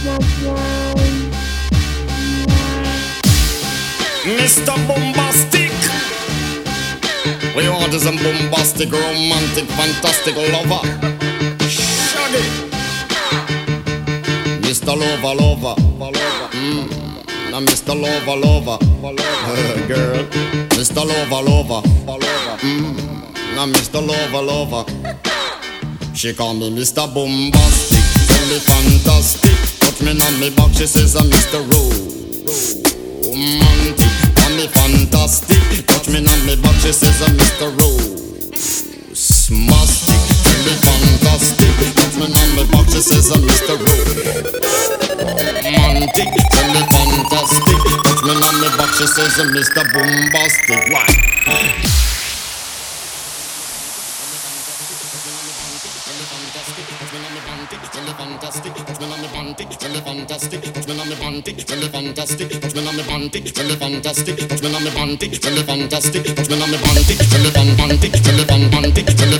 Mr. Bombastic, we want is a bombastic, romantic, fantastic lover. Shaggy, Mr. Lover, lover, now Mr. Lover, lover, girl, Mr. Lover, lover, now Mr. Lover, lover. She call me Mr. Bombastic, tell me fantastic. Touch me on me back, she says I'm Mr. Romantic. Call me fantastic, touch me on me back, she says I'm Mr. Romantic. Tell me fantastic, touch me on me back, she says I'm Mr. Romantic. Tell me fantastic, touch me on me back, she says I'm Mr. Bombastic. Why? Fantastic, touch me on me panty, tell me fantastic, touch me on me panty, tell me fantastic, touch me on me panty, tell me fantastic, touch me on me panty, tell me fantastic, touch me on me panty, tell me fan panty, tell me fan panty, tell